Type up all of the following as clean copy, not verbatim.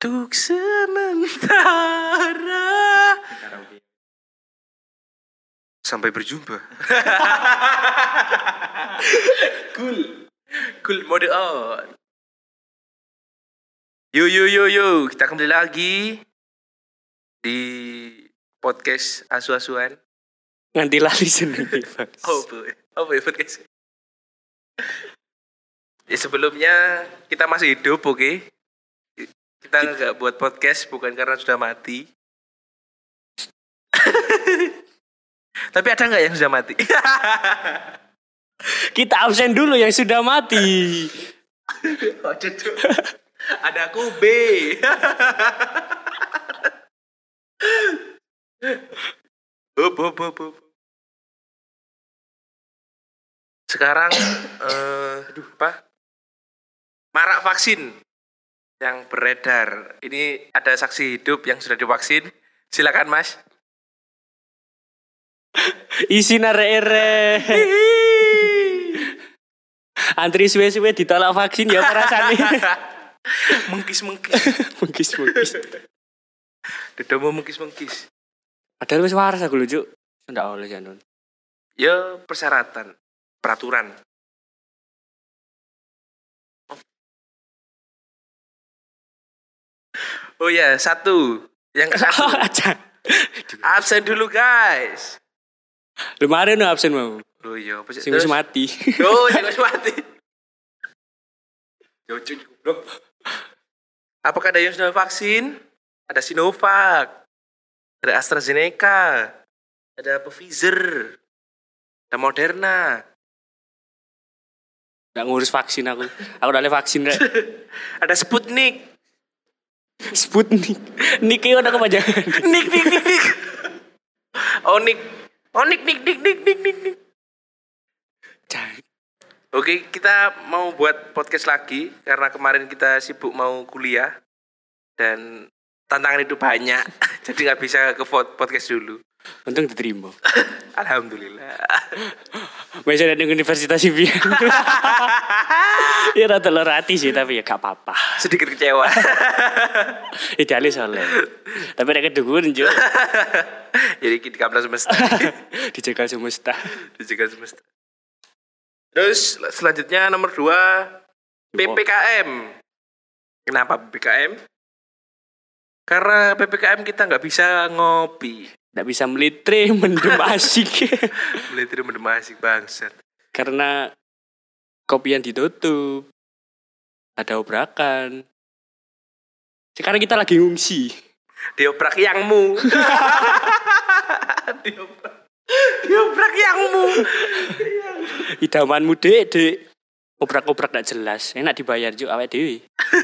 Untuk sementara. Sampai berjumpa. Cool mode on. Yo, kita kembali lagi di podcast asu-asuan. Nganti lali seneng. Oh, podcast. Ya, sebelumnya kita masih hidup, oke? Kita nggak buat podcast bukan karena sudah mati. Tapi ada nggak yang sudah mati? Kita absen dulu yang sudah mati. Oh, cocok. Ada Kube. Up. Sekarang marak vaksin yang beredar. Ini ada saksi hidup yang sudah divaksin. Silakan, Mas. Isi nare-ere. Antri suwe-suwe ditolak vaksin ya perasaan ini. Mengkis. Mengkis. Dedomo mengkis. Padahal wis waras aku lho, Cuk. Ndak oleh janon. Ya persyaratan, peraturan. Oh ya, satu. Yang satu. Absen dulu, guys. Kemarin no absen mau. Loh iya, sing wis mati. Oh, sing wis mati. Jujur goblok. Apakah ada yang sudah vaksin? Ada Sinovac. Ada AstraZeneca. Ada Pfizer. Ada Moderna. Nggak ngurus vaksin aku. Aku udah vaksin rek. Ada Sputnik. Nik udah kepanjangan. Nik. Oh, Nik. Oke, kita mau buat podcast lagi karena kemarin kita sibuk mau kuliah dan tantangan itu banyak, jadi nggak bisa ke podcast dulu. Untung diterima. Alhamdulillah. Masih ada di Universitas Sivian. Ya rata lorati sih tapi ya gak apa-apa. Sedikit kecewa. Idealis soalnya. Tapi ada kedukun juga. Jadi di kampus semesta. Dijegal semesta. Terus selanjutnya nomor 2 PPKM. Kenapa PPKM? Karena PPKM kita nggak bisa ngopi. Nggak bisa melitre mendem asik. Melitre mendem asik bangsat. Karena kopian ditutup. Ada obrakan. Sekarang kita lagi ngungsi. Diobrak yangmu. Diobrak yangmu. Idamanmu dek. Obrak-obrak gak jelas. Enak dibayar juga awake dhewe.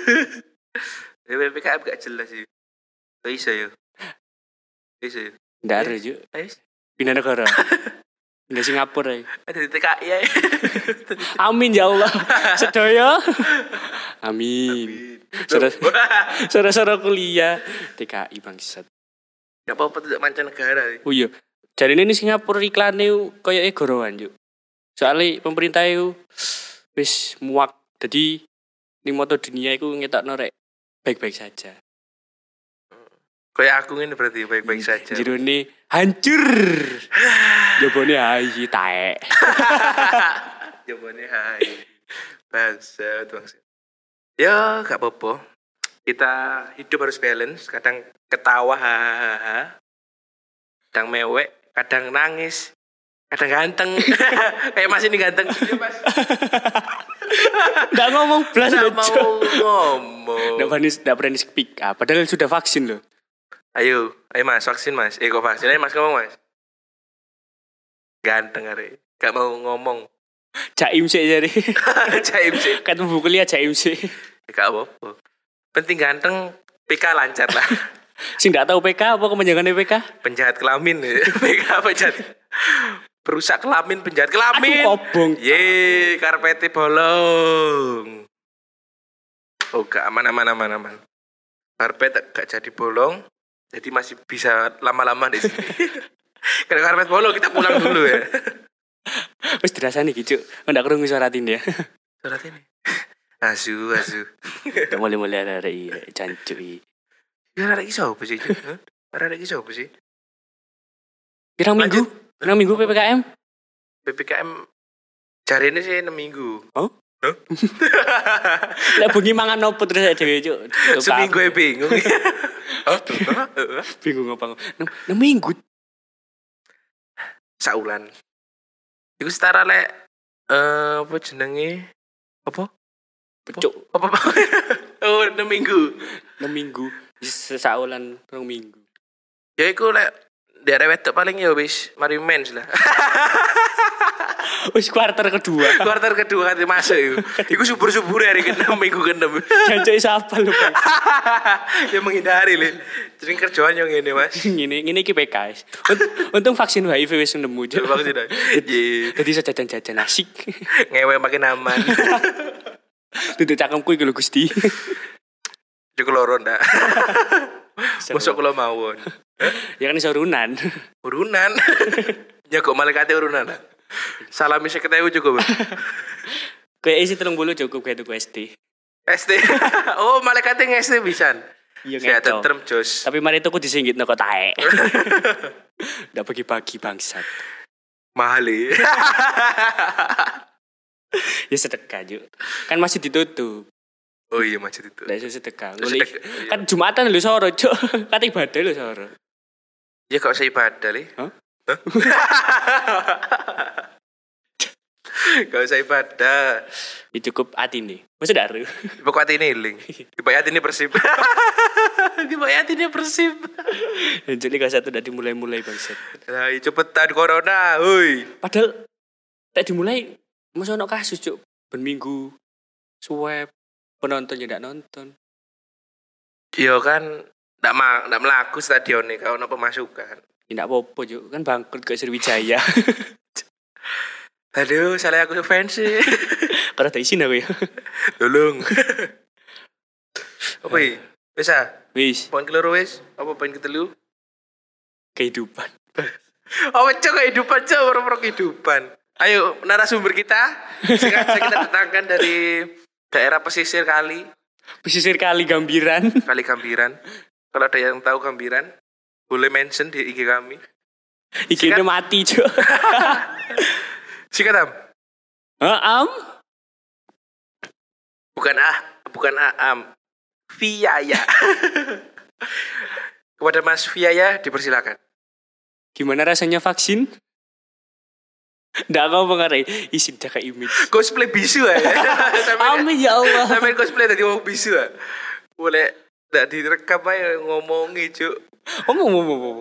PPKM gak jelas sih. Bisa ya. Nggak ada juga. Pindah negara. Pindah Singapura ya. Ada di TKI ya. Amin ya Allah. Sedaya. Amin. Saudara kuliah TKI bangsat. Gak apa-apa tidak mancanegara. Oh iya. Jadi ini Singapura iklannya kayak gorowan yuk. Soalnya pemerintah itu wis muak. Jadi di moto dunia itu ngetokno rek baik-baik saja. Kayak aku ini berarti baik-baik saja. Jerone hancur. Jabone hai taek. Jabone hai. Bangsat. Ya, gak apa-apa. Kita hidup harus balance. Kadang ketawa, kadang mewek, kadang nangis, kadang ganteng. Kayak Mas ini ganteng. Nggak ngomong belas. Nggak mau ngomong. Nggak berani speak up. Padahal sudah vaksin loh. Ayo Mas, vaksin Mas. Kok vaksin? Ayo Mas ngomong Mas. Ganteng are. Gak mau ngomong. Jaim sih jadi. Jaim sih. Kan buku kuliah jaim sih. Gak apa-apa. Penting ganteng, PK lancar lah. Sing gak tahu PK apa kepanjangannya PK? Penjahat kelamin. PK penjahat. Perusak kelamin, penjahat kelamin. Aduh kobong. Ye, karpetnya bolong. Oh, gak aman. Karpet gak jadi bolong. Jadi masih bisa lama-lama di sini. Karena karpet bolong kita pulang dulu ya. Wis dirasani gitu. Ndak krungu suara ini ya. Surat ini. Asu. Tak mulai-mulai ada jancuk iki. Ya arek iki sapa sih, Cuk? Hah? Arek iki sapa sih? Pirang minggu? Pirang minggu PPKM? PPKM jarine sih 6 minggu. Oh? Lah bengi mangan opo terus dhewe, Cuk? Seminggu ya bingung. Bingung apa? 6 minggu. Saulan. Iku setara lek apa jenenge? Apa? Pecuk. Apa? Oh, 6 minggu. 6 minggu. Sesaulan 2 minggu. Ya iku lek daerah wedok paling ya wis mari mens lah. Wis kuarter kedua. Kuarter kedua kate masuk iku. Iku subur-subur hari ke-6 minggu ke-6. Jancuk siapa lu, Bang? Ya menghindari le. Jadi kerjaan yang ngene, Mas. Ngene iki PKS. Untung vaksin HIV wis nemu, Cuk. Vaksin. Iya. Jadi sejajan-jajan asik. Ngewe makin aman. Duduk cangkemku iki lho, Gusti. Cukup loro ndak. Mosok kula mawon. Ya kan iso urunan. Urunan. Ya kok malaikate urunan. Salami 50.000 cukup. Kayak isi 30 cukup kayak tuku SD. SD. Oh, malaikate nge-SD pisan. Iya Saya ngeco. tentrem jos. Tapi mari tuku disinggitno kok taek. Ndak bagi-bagi bangsat. Mahal ya. Ya sedekah, Juk. Kan masih ditutup. Oh iya macet itu. Ndak iso sedekah. Sedekah, Nguli. iya. Kan Jumatan lho soro, Cuk. Kan ibadah lho soro. Ya kok saya ibadah le. Hah? Gak usah ibadah. Ya cukup atine. Masa daru. Pokok hati ini ling. Dibayar ini Persib. Dibayar ini Persib. Jadi Liga 1 udah dimulai-mulai bangsat. Nah, cepetan corona, hui. Padahal tak dimulai masa ono kasus, Cuk. Ben minggu swab penonton ya ndak nonton. Iya kan, ndak melaku stadion nih kalau ono pemasukan. Ya ndak apa-apa, Cuk. Kan bangkrut ke Sriwijaya. Aduh, salah aku fans sih. Karena tak isin aku ya. Tolong. Apa ya? Bisa? Wis, Poin keloro wis? Apa poin ketelu? kehidupan. Apa cok kehidupan cok, orang-orang kehidupan. Ayo narasumber kita. Sekarang kita datangkan dari daerah pesisir kali. Pesisir Kali Gambiran. Kali Gambiran. Kalau ada yang tahu Gambiran, boleh mention di IG kami. Iki mati, Cuk. Sikat am. Bukan Aam. Viaya. Kepada Mas Viaya dipersilakan. Gimana rasanya vaksin? Nggak mau mengarai. Isin jaga image. Cosplay bisu ya. Amin ya Allah. Sampai cosplay tadi mau bisu ya. Boleh nggak direkam aja ngomongi cuk. Omong.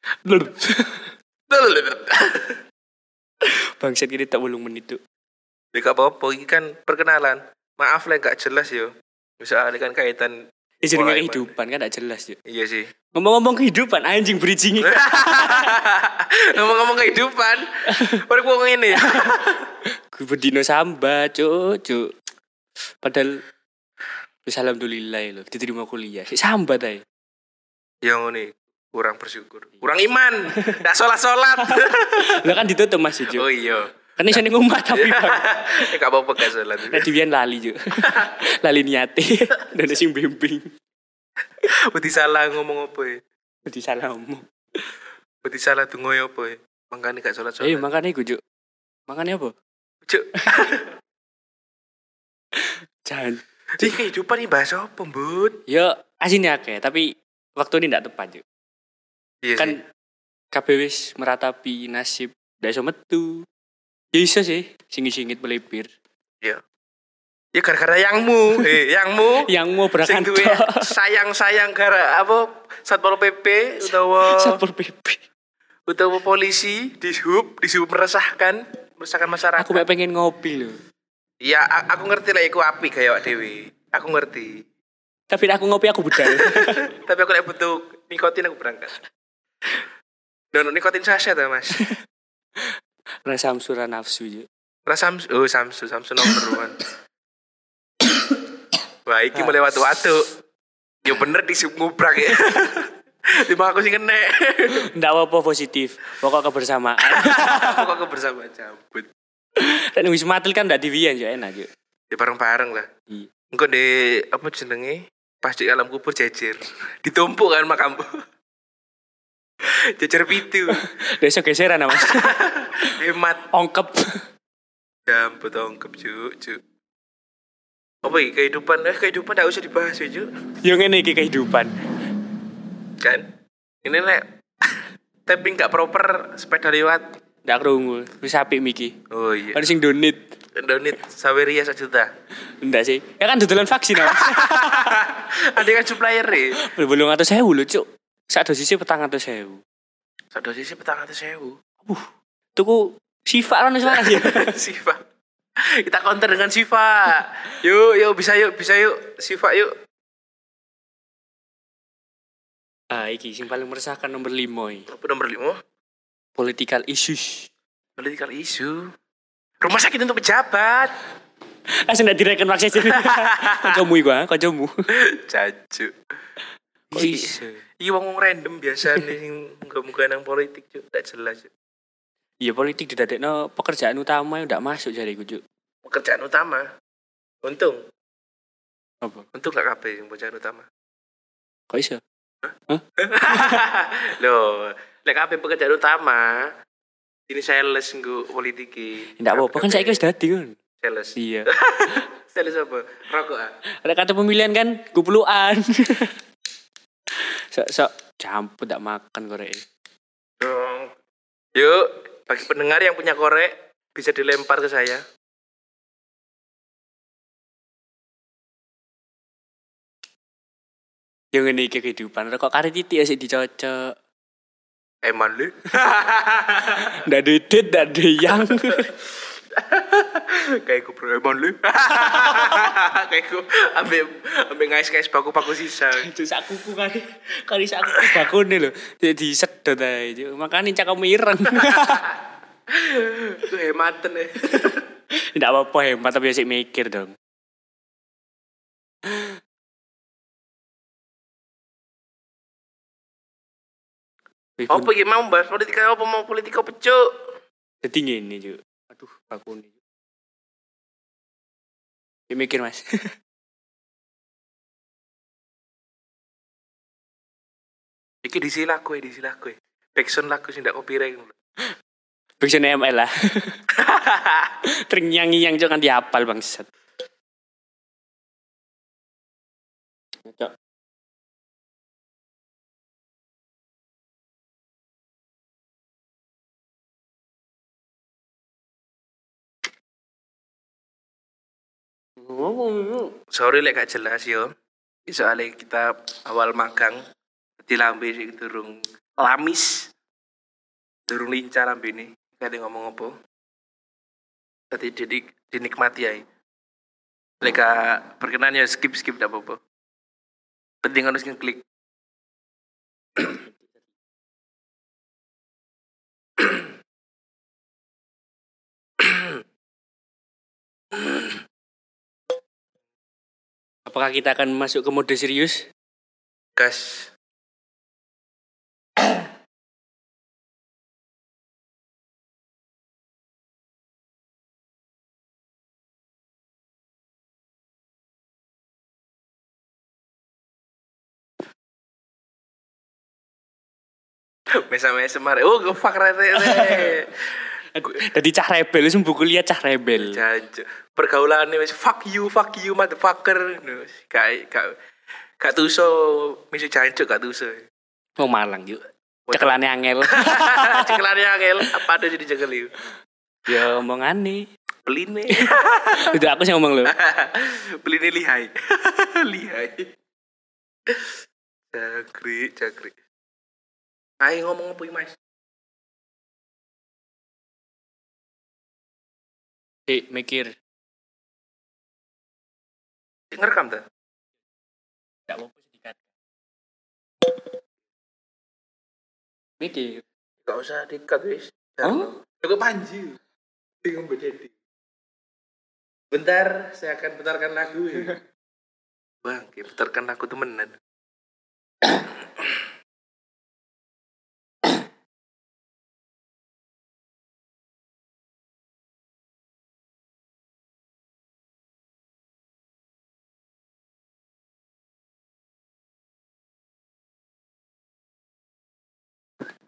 Bangsat gini tak 8 menit tuh. Ya gak apa-apa, ini kan perkenalan. Maaf lah gak jelas yo. Misalnya kan kaitan Jadi mulai kehidupan kan tak jelas, Cuk. Iya sih. Ngomong-ngomong kehidupan, anjing bridging. Ngomong-ngomong kehidupan. Baru gua ngene. Gue berdino sambat, Cuk. Padahal wis alhamdulillah lho diterima kuliah. Sambat ae. Yang ini kurang bersyukur. Kurang iman. Ndak salat-salat. Lah kan ditutup Mas, Cuk. Oh iya. Kan iso ning omah tapi Bang. Ya gak apa-apa gak salat. Nek diwian lali, Cuk. Lali niate dan sing bimbing. Beti salah ngomong apa ya? Beti salahmu. Beti salah tuh ngoyo apa ya? Makanya gak salat-salat. Makane iku, Cuk. Makane apa? Cuk. Jangan. Jadi kehidupan ini bahasa apa, Bud? Ya asine akeh, tapi waktu ini ndak tepat, Cuk. Iya Kan sih. kabeh wis meratapi nasib ndak iso metu. Ya iso sih, singit-singit melipir. Ya gara-gara yangmu, Yang mau sing duwe berkantor. sayang gara apa Satpol PP utawa Satpol PP. utawa polisi dishub meresahkan masyarakat. Aku mek pengen ngopi lho. Ya aku ngerti lah iku apik gaya awak dhewe. Aku ngerti. Tapi nek aku ngopi aku budal. Tapi aku lek butuh nikotin aku berangkat. Dono nikotin saset ya, Mas. Rasa samsura nafsu, Cuk. Samsu nomor 1. Wah, iki mulai watu-watu. Ya bener disub ngubrak ya. Lima aku sih kena. Ndak apa positif. Pokok kebersamaan. Pokok bersama cabut. Dan wis matil kan ndak diwian yo enak, Cuk. Ya bareng-bareng lah. Iya. Engko di apa jenenge? Pas di alam kubur jejer. Ditumpuk kan makammu. Jejer pitu. Besok geseran Mas. Hemat. Ongkep. Dampet ongkep cuk. Apa iki kehidupan? Kehidupan enggak usah dibahas ya, Cuk. Yo ngene iki kehidupan. Kan? Ini nek tapping gak proper sepeda lewat. Ndak krungu. Wis apik miki. Oh iya. Kan sing donate. Donit Saweria 1 juta. Enggak sih. Ya kan dodolan vaksin Mas. Ada kan supplier e. Belum 800.000 lho, Cuk. Sak dosisnya 400.000. Sak dosisnya 400.000. Tuku Siva kan wis waras ya. Siva. Kita counter dengan Siva. Yuk bisa yuk Siva yuk. Iki sing paling meresahkan nomor 5 iki. Apa nomor 5? Political issues. Political issue. Rumah sakit untuk pejabat. Langsung ndak direken maksis. Kancamu iku, kancamu. Cacu. Kok iso? Iki wong random biasa nih muga-muga nang politik, Cuk. Ndak jelas, Cuk. Iya politik didadekno pekerjaan utama yang ndak masuk jariku, Cuk. Pekerjaan utama. Untung Apa? gak kabeh yang pekerjaan utama. Kok iso? Loh, lek kabeh pekerjaan utama ini sales nggo politiki. Ndak apa-apa kan saiki wis dadi kan. Sales. Iya. Sales apa? Rokok ah. Ada kata pemilihan kan kupluan. Sok campur ndak makan korek. Dong. Yuk, bagi pendengar yang punya korek bisa dilempar ke saya. Yang ngene iki kehidupan. Rokok karet titik asik dicocok. Eman lu. Ndak dedit, ndak deyang. Kayak gue bro eman lu. Kayak gue ambil ngais paku sisa. Itu sak kuku kali sak kuku bakune lho. Jadi sedot ae. Makane cakamu ireng. Itu hematan ya. Ndak apa-apa hemat tapi asik mikir dong. Apa iki mau bahas politika apa mau politika pecuk? Dadi ngene, Cuk. Aduh, bakune. Ya mikir, Mas. Iki disi lagu. Backsound lagu sing ndak copyright. Backsound ML lah. Ternyanyi Cuk kan dihafal bangsat. Cuk. Sorry lek gak jelas yo. Soalnya kita awal magang di lambe sing durung lamis. Durung lincah lambe ini. Kade ngomong apa? Tadi dinikmati ae. Lek berkenan ya skip ndak apa-apa. Penting harus ngeklik. Apakah kita akan masuk ke mode serius? Gas. Mesam mare. Oh, fuck rete. Jadi cah rebel, wis buku lihat cah rebel. Jancuk. Pergaulane wis fuck you motherfucker. Gak tuso misu jancuk gak tuso. Mau Malang yuk. Cekelane angel. Cekelane angel apa ada jadi cekel yuk. Ya omongane. Beline. Itu aku sih ngomong lho. Beline lihai. Cakri. Ayo ngomong apa Mas? Mikir. Ngerekam ta? Enggak apa-apa sedikit. Mikir. Gak usah dikat wis. Oh? Cukup Panji. Bingung bededi. Bentar, saya akan putarkan lagu ya. Bang, putarkan lagu temenan.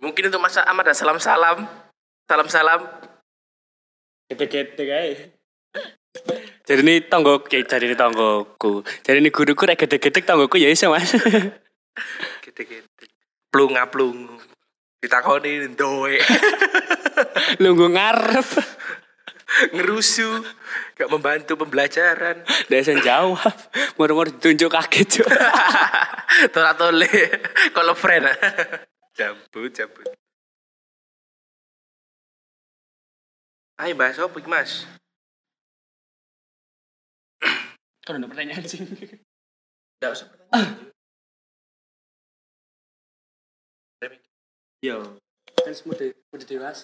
Mungkin untuk Mas Ahmad ada salam-salam. Salam-salam. Gede-gede kae. Jadi ini tonggoku, Jadi ini guruku rek gede-gede tonggoku ya iso Mas. Gede-gede. Plunga-plungu. Ditakoni ndoe. Lungguh ngarep. Ngerusu. Gak membantu pembelajaran. Desen jawab. Moro-moro ditunjuk kaget jo. Tola-tole. Kalau friend. Cabut. Ayo bahas apa iki, Mas? Kan ada pertanyaan sih. Enggak usah pertanyaan. Yo, kan udah dewasa.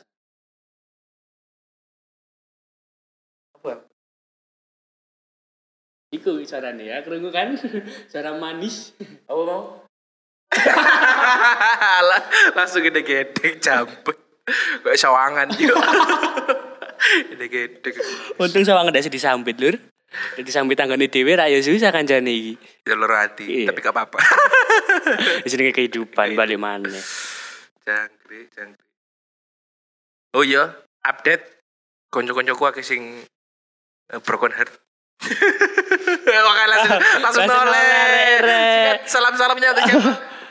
Apa? Iku carane ya, krungu kan? Cara manis. Apa mau? Langsung gede-gede cabut. Kayak sawangan juga. Gede-gede. Untung sawangan ndak disambit, Lur. Disambit tanggane dhewe ra ya susah kancane iki. Jalur hati, tapi gak apa-apa. Wis jenenge kehidupan balik maneh. Jangkrik. Oh iya, update konco-koncoku akeh sing broken heart. Oke, langsung noleh. Salam-salamnya untuk siapa?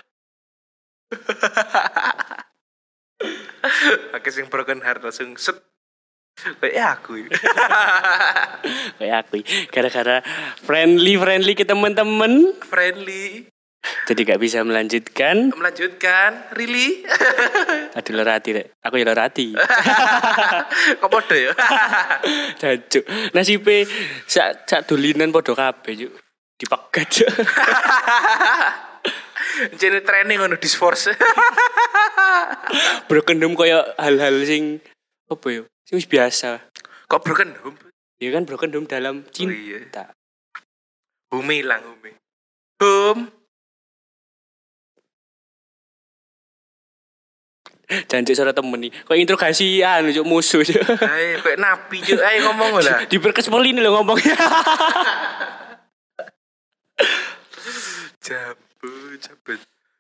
Akeh sing broken heart langsung set. Kayak aku. Kayak aku. Gara-gara friendly ke teman-teman. Friendly. Jadi gak bisa melanjutkan. Really? Aduh lerati rek. Aku ya lerati. Kok podo ya? Jancuk. Nasibe sak dolinan podo kabeh juk. Dipegat juk. Jadi training ngono disforce. Broken home koyo hal-hal sing apa ya? Sing wis biasa. Kok broken home? Ya kan broken home dalam cinta. Oh, iya. Home hilang. Home. Jancuk suara temen nih. Kok interogasi juk musuh juk. Ayo kayak nabi juk. Ayo ngomong lah. Diperkespolin lho ngomongnya. Cabut.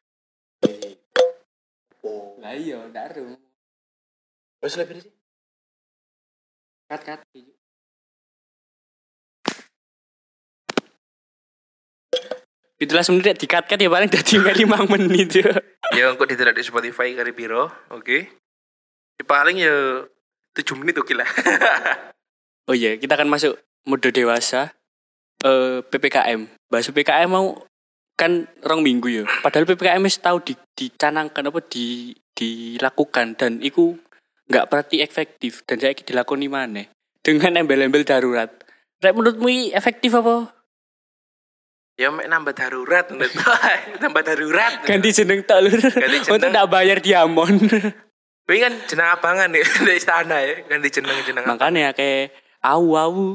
Lah iya, ndak ero. Wes lebih sih. Kat. Itulah sebenarnya di-cut ya paling dadi 5 menit ya. Ya engko ditelok di Spotify kari piro, oke. Ya paling ya 7 menit oke lah. Oh iya, kita akan masuk mode dewasa. PPKM. Bahas PPKM mau kan 2 minggu ya. Padahal PPKM wis tau dicanangkan apa dilakukan dan iku enggak berarti efektif dan saiki dilakoni maneh dengan embel-embel darurat. Rek menurutmu efektif apa? Ya mek nambah darurat nambah darurat. Ganti jeneng tok lur. Untuk ndak bayar diamond. Kuwi kan jeneng abangan nih di istana ya, ganti jeneng. Makanya kayak au.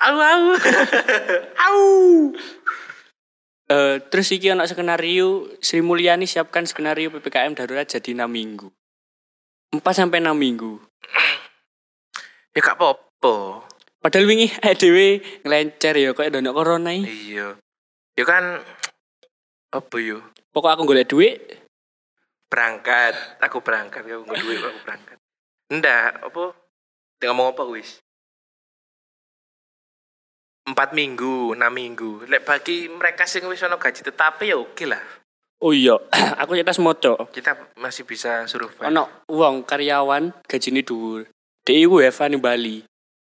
Terus iki ana skenario Sri Mulyani siapkan skenario PPKM darurat jadi 6 minggu. 4 sampai 6 minggu. Ya gak apa-apa. Padahal wingi dhewe nglencer ya kok ndono corona iki. Iya. Ya kan apa yo? Pokok aku golek duit berangkat, aku berangkat, aku duit aku berangkat. Ndak, apa? Ngomong apa wis? 4 minggu, 6 minggu. Lek bagi mereka sing wis ono gaji tetap ya oke lah. Oh iya, aku cetas moco. Kita masih bisa survive. Ono wong karyawan gajine dhuwur. Dek iku WFH ning Bali.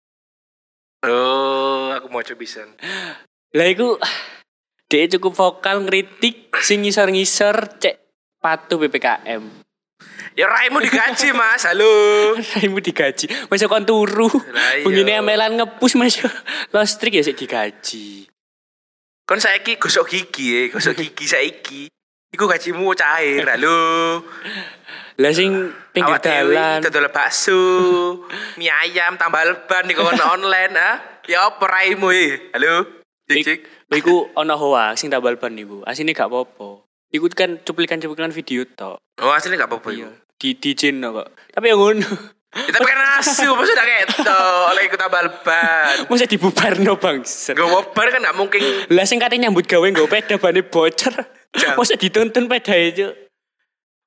Oh, aku mau coba bisa. Lah iku dek cukup vokal ngritik sing ngisor-ngisor cek patuh PPKM. Ya raimu digaji, Mas. Halo. Raimu digaji. Masa kon turu. Bengine amelan ngepus Mas. Lostrik ya sik digaji. Kon saiki gosok gigi saiki. Iku gajimu cair, halo. Lah sing pinggir dalan dodol bakso, mie ayam tambah leban ning online Ya apa raimu halo. Cik. Iku ana hoax sing tambal ban niku. Asine gak apa-apa. Iku kan cuplikan-cuplikan video tok. Oh, asline gak apa-apa iku. Di channel kok. Tapi yang ngono. Kita pengen asu, maksudnya ketok, oleh ikut tambal ban. Masa dibubarno bangset. Gak bubar kan gak mungkin. Lah sing kate nyambut gawe nggo peda bane bocor. Masa dituntun pedae, Cuk.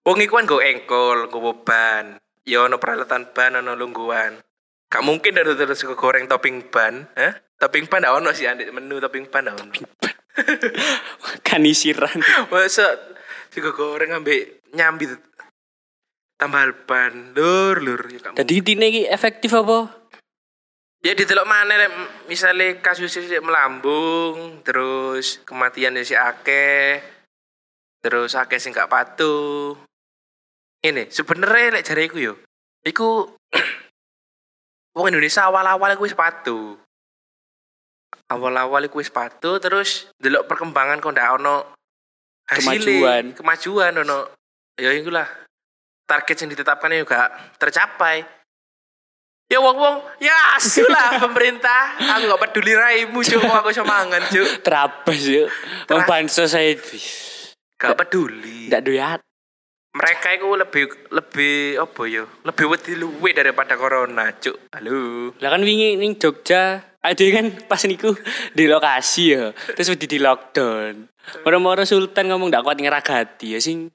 Wong iku kan nggo engkol, nggo ban. Ya ono peralatan ban, ono lungguhan. Gak mungkin ada terus goreng topping ban, Topping ban ndak ono sih andek menu topping ban ndak ono. Kanisiran. Masa sego goreng ambek nyambi tambal ban, lur ya gak. Dadi intine iki efektif apa? Ya ditelok mana misalnya kasusnya melambung, terus kematiannya si akeh, terus akeh sing gak patuh. Ini sebenarnya lek jariku yo, iku wong Indonesia awal-awal iku wis patuh. Awal-awal iku wis patuh, terus delok perkembangan kok ndak ono kemajuan ono. Ya iku lah. Target yang ditetapkan juga tercapai. Ya wong ya asulah pemerintah. Aku gak peduli raimu cuk, aku semangan cuk. Terabas yuk. Wong bansos saya gak peduli. Ndak doyat. Mereka itu lebih apa ya? Lebih wedi luwe daripada corona cuk. Halo. Lah kan wingi ning Jogja ada kan pas niku di lokasi ya. Terus wedi di lockdown. Moro-moro Sultan ngomong ndak kuat ngeragati ya sing.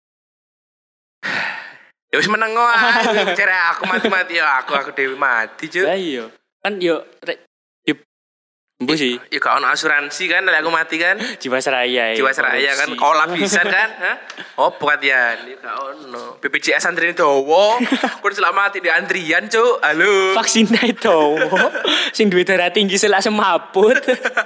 Ya wis meneng ae, cere aku mati-mati ya aku dewe mati, Cuk. Lah iya. Kan yo mbo sih. Ya gak ono asuransi kan nek aku mati kan. Jiwasraya. Jiwasraya kan kolak pisan kan, Opo katian? Ya gak ono. BPJS antrian dawa, kon selamat di antrian, Cuk. Halo. Vaksin dawa. Sing duwe darah tinggi selak semaput.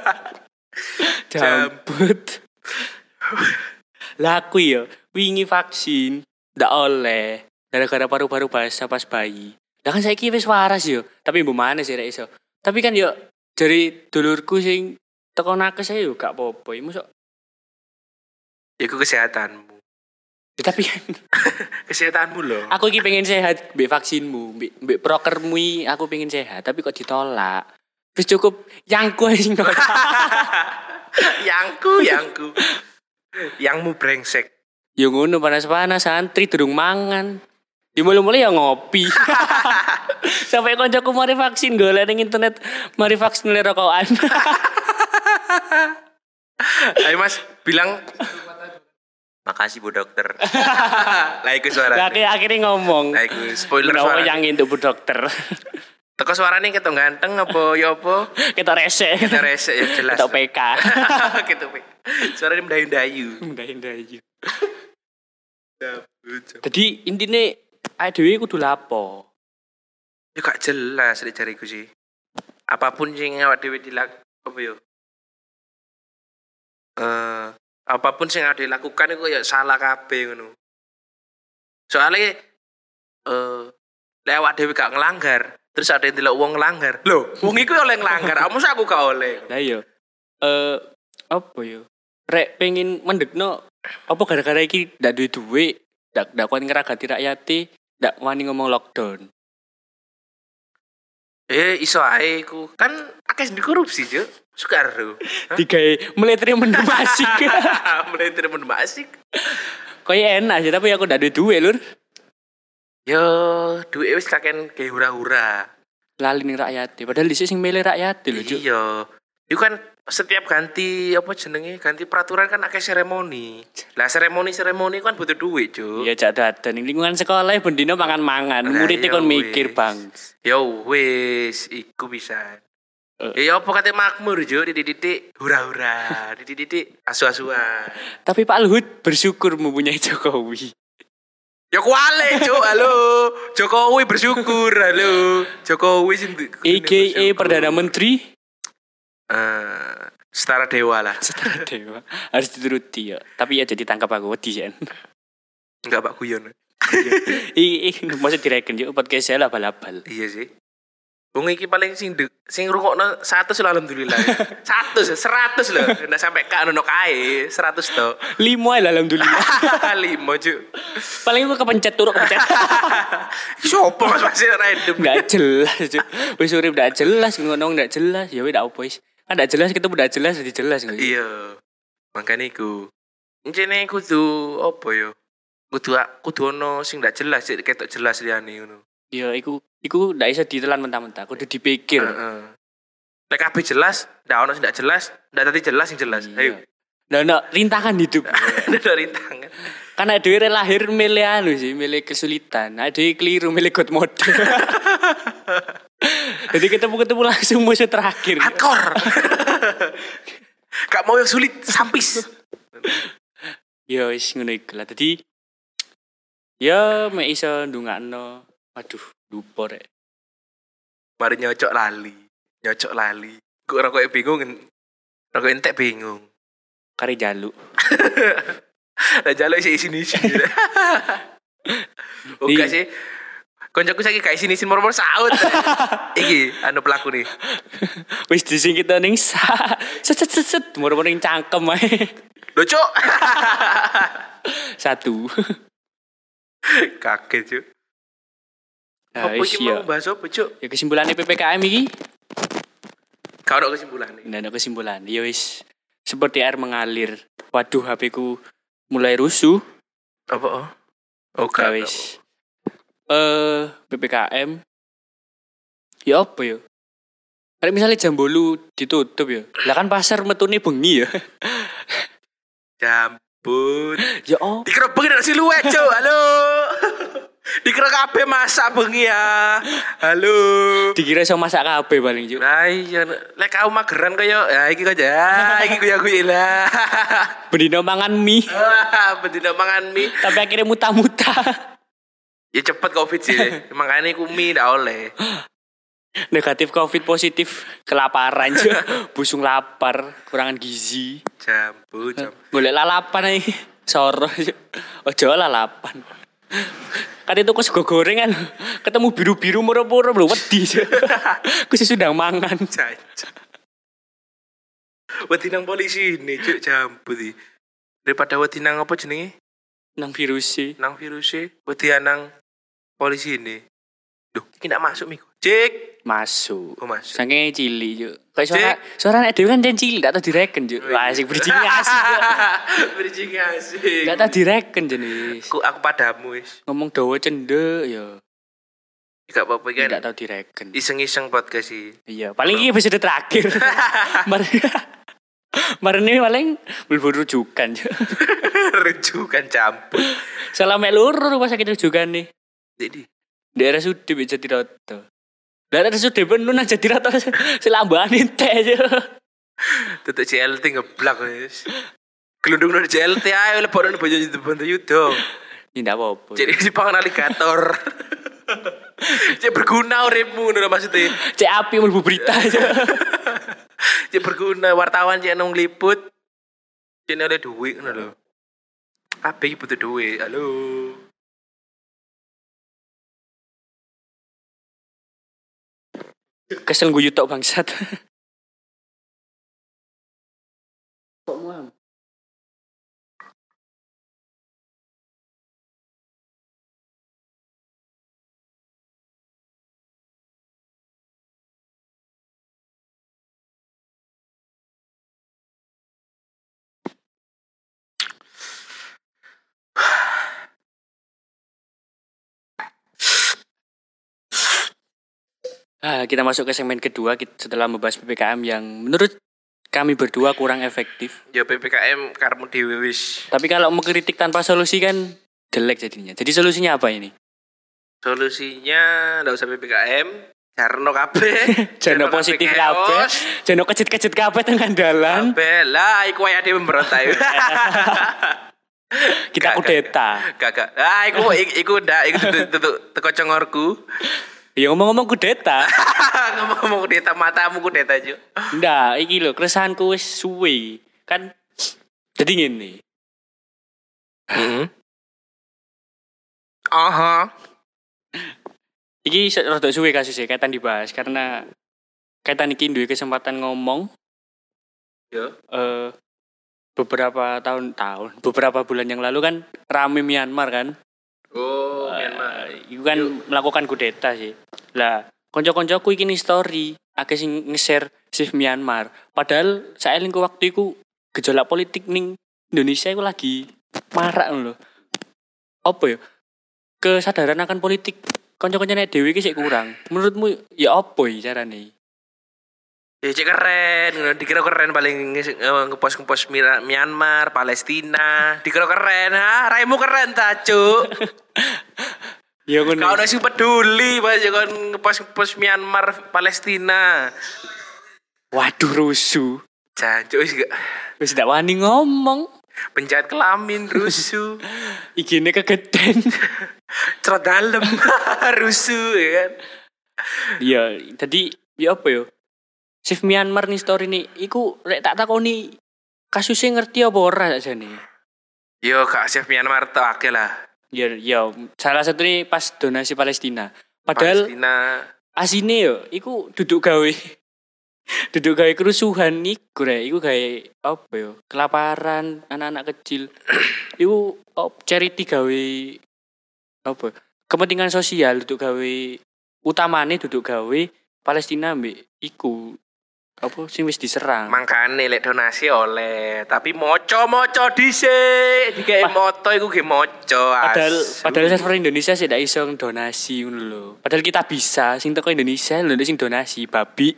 Jambut. Lah aku yo wingi vaksin ndak oleh. Gara-gara paru-paru basah pas bayi. Lah kan saiki wis waras yo, tapi mbok maneh sih rek iso. Tapi kan yo dari dulurku sing teko nakes ae yo gak apa-apa. Mosok iku kesehatanmu. ya, tapi kan kesehatanmu loh. aku iki pengen sehat mbek vaksinmu, mbek prokermu aku pengen sehat, tapi kok ditolak. Wis cukup yangku ae sing nolak. Yangku. Yangmu brengsek. Yo ngono panas-panas santri durung mangan. Di mulai-mulai ya ngopi. Sampai koncoku mari vaksin golek ning internet, mari vaksin oleh rokokan. Ayo Mas, bilang makasih Bu Dokter. Lah iku suara. Lah akhirnya ngomong. Lah iku spoiler suara. suara. Yang itu Bu Dokter. Teko suarane ketok ganteng apa ya apa? Kita resek. Kita resek ya jelas. Kita PK. Kita PK. Suarane mendayu-dayu. Mendayu-dayu. Jadi intine dhewe kudu lapo? Ya gak jelas nek jariku sih. Apapun sing awak dhewe apa yo? Apapun sing awak dhewe lakukan iku ya salah kabeh ngono. Soale lek awak dhewe gak ngelanggar, terus ada yang delok wong ngelanggar. Lho, wong iku oleh ngelanggar, mosok aku gak oleh. Lah iya. Apa yo? Rek pengen mendekno apa gara-gara iki ndak duwe duit, ndak kuat ngeragati rakyate, ndak wani ngomong lockdown. Iso ae ku. Kan akeh sing korupsi, Cuk. Sukaro. Digawe meletre mendem asik. Meletre mendem asik. Koyo enak sih, tapi aku ndak duwe duit, Lur. Yo, duit wis kaken ke hura-hura. Lali ning rakyate, padahal dhisik sing milih rakyate lho, Cuk. Iya. Iku kan setiap ganti apa jenenge ganti peraturan kan akeh seremoni. Lah seremoni kan butuh duit, Cuk. Iya jak dadan ning lingkungan sekolah bendino mangan-mangan, murid kon mikir, Bang. Yo wis iku bisa. Ya apa kate makmur, Cuk, dididik hura-hura, dididik asu-asuan. Tapi Pak Luhut bersyukur mempunyai Jokowi. Ya kuale, Cuk. Halo. Jokowi bersyukur. Halo. Jokowi sing AKA Perdana Menteri setara dewa lah. Setara dewa. Harus dituruti ya. Tapi ya jadi tangkap aku wedi ya. Enggak Pak Guyon. Masa direken yo podcast saya labal-labal. Iya sih. Wong iki paling sing rungokno 100 lho alhamdulillah. 100 lho. Ndak sampai kak ono kae 100 to. 5 lah alhamdulillah. 5 Cuk. Paling aku kepencet turuk kepencet. Sopo Mas masih random. Enggak jelas, Cuk. Wis urip ndak jelas ngono ndak jelas. Ya wis ndak opo wis. Kan ndak jelas ketemu ndak jelas jadi jelas ngono. Iya. Makane iku. Encene kudu apa ya? Kudu ono sing ndak jelas, ketok jelas liyane ngono. Ya iku ndak iso ditelan mentah-mentah, kudu dipikir. Lek kabeh jelas, ndak ono sing ndak jelas, ndak dadi jelas sing jelas. Ayo. Ndak rintangan hidup. Ndak rintangan. Kan ada dhewe lahir milih milih kesulitan. Ada dhewe keliru milih god mode. Jadi ketemu langsung musuh terakhir. Hardcore. Gak mau yang sulit, sampis. Ya wis ngono iku lah. Dadi ya mek iso ndongakno. Waduh, lupa rek. Mari nyocok lali. Kok rokoke bingung. Rokok entek bingung. Kari jaluk. Lah jaluk isi. Oke sih. Koncoku saiki gak isi mor-mor saut. Iki anu pelaku nih. Wis disingkit ning set moro-moro ning cangkem ae. Lho, Cuk. 1. Kaget, Cuk. Nah, Apa iki mau bahas apa, Cuk? Ya kesimpulannya PPKM iki. Gak ada kesimpulan nih. Nggak ada kesimpulan. Ya wis seperti air mengalir. Waduh, HP ku mulai rusuh. Apa? Oh, Ya wis. PPKM. Ya apa ya? Kayak misalnya jam 8 ditutup ya. Lah kan pasar metune bengi ya. Jambut. Ya oh. Dikira bengi nek siluet, Cuk. Halo. Dikira kabeh masak bengi ya. Halo. Dikira iso masak kabeh paling juk. Lah iya lek kau mageran kaya ya iki kok ya. Iki kuya-kuya lah. Bendino mangan mie. Bendina mangan mie. Tapi akhirnya muta-muta. Ya cepet Covid sih. Makanya aku mie ndak oleh. Negatif Covid, positif kelaparan juk. Busung lapar, kurangan gizi. Jambut. Golek lalapan ae. Soro juk. Ojo lalapan. Kan itu kok sego gorengan ketemu biru-biru murah-murah lho wedi. Ku sih sudah mangan. Wedi nang polisi ini Cuk jambut iki. Daripada wedi nang apa jenenge? Nang virus sih. Nang virus e wedi nang polisi ini. Duh, iki ndak masuk Miko. Cek. Masuk. Oh, masuk. Saking cilik juk. Kayak suara nek dhewe kan jan cilik ndak tau direken juk. Wah, asik bridging asik. Bridging asik. Ndak tau direken jenis. Aku padamu wis. Ngomong dawa cendek ya. Gak apa-apa kan. Ndak tau direken. Iseng-iseng podcast sih. Iya, paling iki episode terakhir. Mari ini paling berburu rujukan. Rujukan campur. Salah mek lur rumah sakit rujukan nih. Jadi daerah Sudi bisa Jatiroto. Daerah Sudi penuh nang Jatiroto selambahan entek aja. Tetek CLT ngeblak wis. Gelundung nang CLT ae lebaran bojo yudo. Ya ndak apa-apa. Jadi dipangan aligator. Cek berguna uripmu ngono maksudnya. Cek api mlebu berita aja. Cek berguna wartawan cek nang ngliput. Cek oleh duit ngono lho. Ape iki butuh duit. Halo. Kesel guyu tok bangsat. Kok muam? Kita masuk ke segmen kedua setelah membahas PPKM yang menurut kami berdua kurang efektif. Ya PPKM karmu dhewe wis. Tapi kalau mengkritik tanpa solusi kan jelek jadinya. Jadi solusinya apa ini? Solusinya ndak usah PPKM, jarno kabeh. Jarno positif kabeh. Jarno kecit-kecit kabeh tengah dalan. Kabeh lah iku wae dhewe memberontak. Kita kudeta. Gak. Ah iku ndak iku teko congorku. Ya ngomong-ngomong kudeta. Ngomong kudeta matamu kudeta Cuk. Ndak, iki lho keresahanku wis suwe. Kan jadi ngene. Heeh. Aha. Iki rada suwe kasusnya kaitan dibahas karena kaitan iki duwe kesempatan ngomong. Ya. Beberapa beberapa bulan yang lalu kan rame Myanmar kan. Oh, Myanmar. Iku kan melakukan kudeta sih. Lah, konco-koncoku iki story, akeh sing nge-share save Myanmar. Padahal saelingku waktu iku gejolak politik ning Indonesia iku lagi marak lho. Apa ya? Kesadaran akan politik konco-koncone dhewe iki sik kurang. Menurutmu ya apa ya carane? Ya cek keren, ngono dikira keren paling ngepost Myanmar, Palestina, dikira keren, ha? Raimu keren ta, Cuk? Ya ngono. Kau sing peduli pas kon ngepost Myanmar, Palestina. Waduh rusuh. Jancuk wis gak Wis ndak wani ngomong. penjahat kelamin rusuh. Igine kegeden. Cerot dalem rusuh ya kan. Iya, tadi ya apa yo? Chef Myanmar nih story nih, iku rek tak takoni kasusnya ngerti apa ora sakjane. Yo Kak Chef Myanmar tok akeh lah. Ya, salah satu nih pas donasi Palestina. Padahal Palestina asine yo, iku duduk gawe kerusuhan iku rek, iku gawe apa yo? Kelaparan anak-anak kecil. Iku charity gawe apa? Kepentingan sosial duduk gawe utamane duduk gawe Palestina mbek iku apa sing wis diserang. mangkane lek donasi oleh, tapi moco dhisik, dikek moto iku ge moco. Padahal server Indonesia sih ndak iso donasi ngono lho. Padahal kita bisa sing teko Indonesia lho sing donasi babi.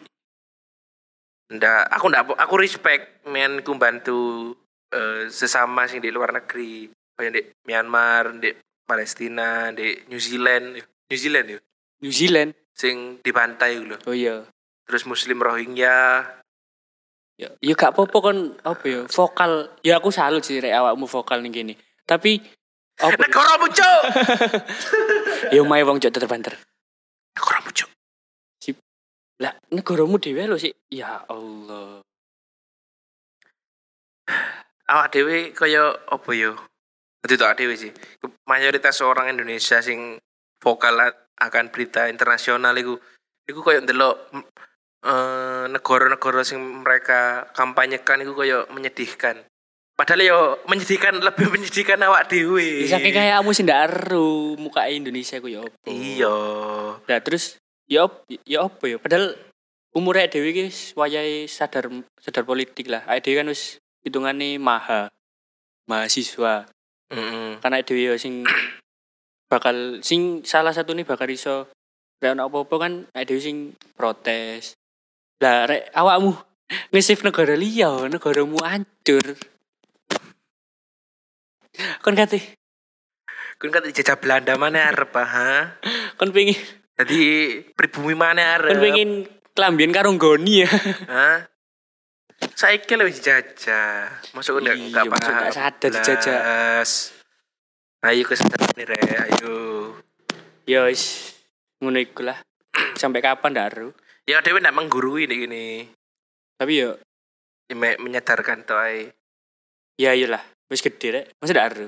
Aku respect men ku bantu sesama sing di luar negeri. Kayak di Myanmar, di Palestina, di New Zealand ya. New Zealand Sing di pantai lho. oh iya. Terus Muslim Rohingya. Ya gak apa-apa kon apa ya vokal. Ya aku salut sih rek awakmu vokal ning kene. Tapi apa Negaramu, Cuk. ya omahe wong cok terbanter. Negaramu, Cuk. Lah negaramu dhewe lho sih. Ya Allah. Awak dhewe kaya apa yo? Itu awak dhewe sih. Mayoritas orang Indonesia sing vokal akan berita internasional iku kaya ndelok negara-negara sing mereka kampanyekan itu kayak menyedihkan. Padahal yo menyedihkan, lebih menyedihkan awak dhewe. Saking kayak kamu sih ndak aru muka Indonesia ku ya apa. Iya. Nah terus ya apa ya? Padahal umure dhewe iki wayahe sadar politik lah. Awake dhewe kan wis hitungane mahasiswa. Karena dhewe yo sing bakal salah satu nih bakal iso rek ono apa-apa kan awake dhewe sing protes. Lah rek awakmu nge-save negara liya, negaramu hancur. Kon kate dijajah Belanda mana arep ha? Kon pengen Jadi pribumi mana arep? kon pengen kelambian karo nggoni ya. Hah? Saiki lho dijajah. Masuk enggak Iya, paham. masuk nggak sadar dijajah. Ayo kesadaran nih Re, ayo. Ya wis ngono iku lah. Sampai kapan ndak aru. Ya dhewe ndak menggurui nih gini. Tapi yo Menyadarkan to ae. ya iyalah, wis gede rek. Masa ndak aru.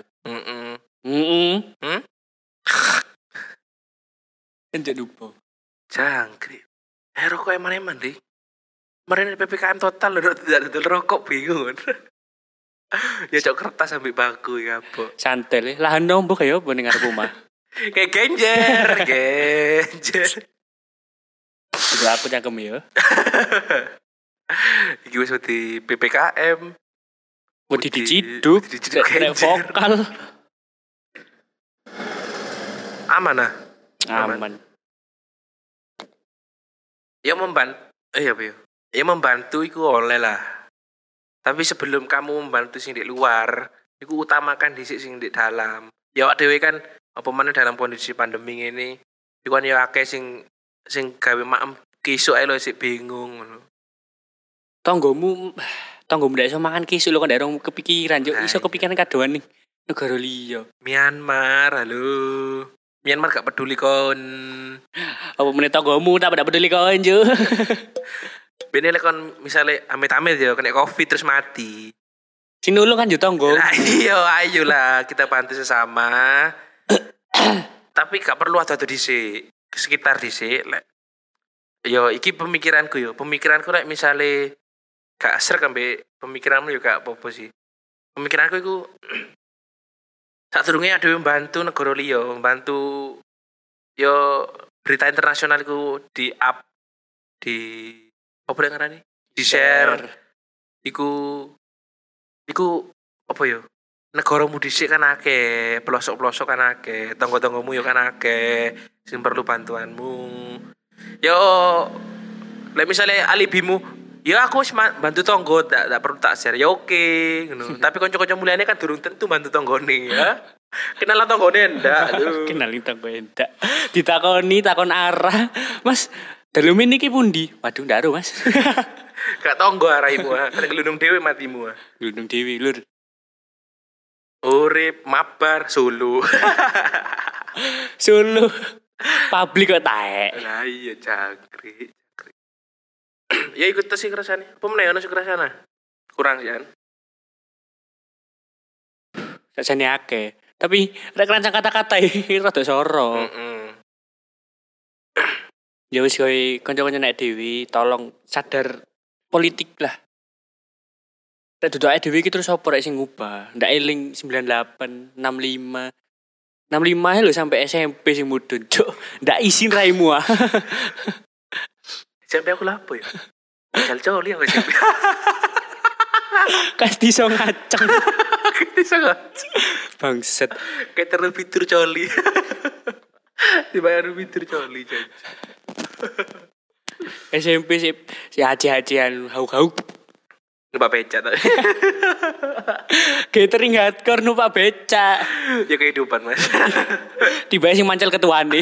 Enjak lupa. Jangkrik. Rokok eman-eman deh. Kemarin PPKM total lho, tidak dodol rokok bingung. Ya cok kertas sampai baku ya apa. Santel lahan nombok ya apa ning arep omah. Kayak genjer. Juga aku cangkem ya. Iki wis di PPKM. Mau diciduk, rek vokal. Aman ah. Aman. Ya membantu iku oleh lah. Tapi sebelum kamu membantu sing di luar, iku utamakan dhisik sing di dalam. Ya awak dhewe kan apa meneh dalam kondisi pandemi ini, iku kan ya akeh sing gawe maem kisuk ae lho sik bingung ngono. Tanggomu ndak iso mangan kisuk lho kan ndak kepikiran, yo Nah, iso kepikiran kadoan ning negara liya. Myanmar, halo. Myanmar gak peduli kon. Apa meneh tanggomu tak peduli kon jo. Bene lek kon misale amit-amit ya kena Covid terus mati. Sing nulung kan yo tanggo. Lah iya ayolah kita bantu sesama. Tapi gak perlu ada dhisik, sekitar dhisik lek. Yo iki pemikiranku lek misale gak srek ambek pemikiranmu yo gak apa-apa sih. Pemikiranku iku sadurunge ada membantu negara liya, membantu yo berita internasional iku di up di apa yang ngarani? Di share. Iku apa yo? Negaramu dhisik kan akeh, pelosok-pelosok kan akeh, tangga-tanggamu yo kan akeh sing perlu bantuanmu. Yo lek misale alibimu Ya aku wis bantu tonggo, tak perlu tak share. Ya oke, ngono. Tapi kanca-kanca mulyane kan durung tentu bantu tonggone ya. Kenalan tonggone ndak lho. Kenalin tanggo endak. Ditakoni takon arah. Mas, dalu niki pundi? Waduh, ndak ero, Mas. Gak tonggo araimu, kan gelundung dhewe matimu. Gunung Dewi, Lur. Urip mabar Solo. Solo. Publik kok taek. Lah iya jangkrik. Ya ikut tes sih kerasane. Apa meneh ono sing kerasana? Kurang sih kan. Sakjane akeh. Tapi rek rancang kata-kata rada soro. Ya wis kowe kanca-kanca nek Dewi tolong sadar politik lah. Nek duduk ae dhewe iki terus opo rek sing ngubah? Ndak eling 98, 65. 65 lho sampai SMP sing mudun, Cuk. Ndak isin raimu ah. Sampai aku lapo ya. Jal coli aku SMP. Kas diso ngaceng. Bisa gak? Bangset. Kayak terlalu fitur coli. Dibayar fitur coli jadi. SMP si haji-hajian hauk-hauk. Numpak becak tadi. Catering hardcore numpak becak. Ya kehidupan mas. Tiba sing mancal ketuane.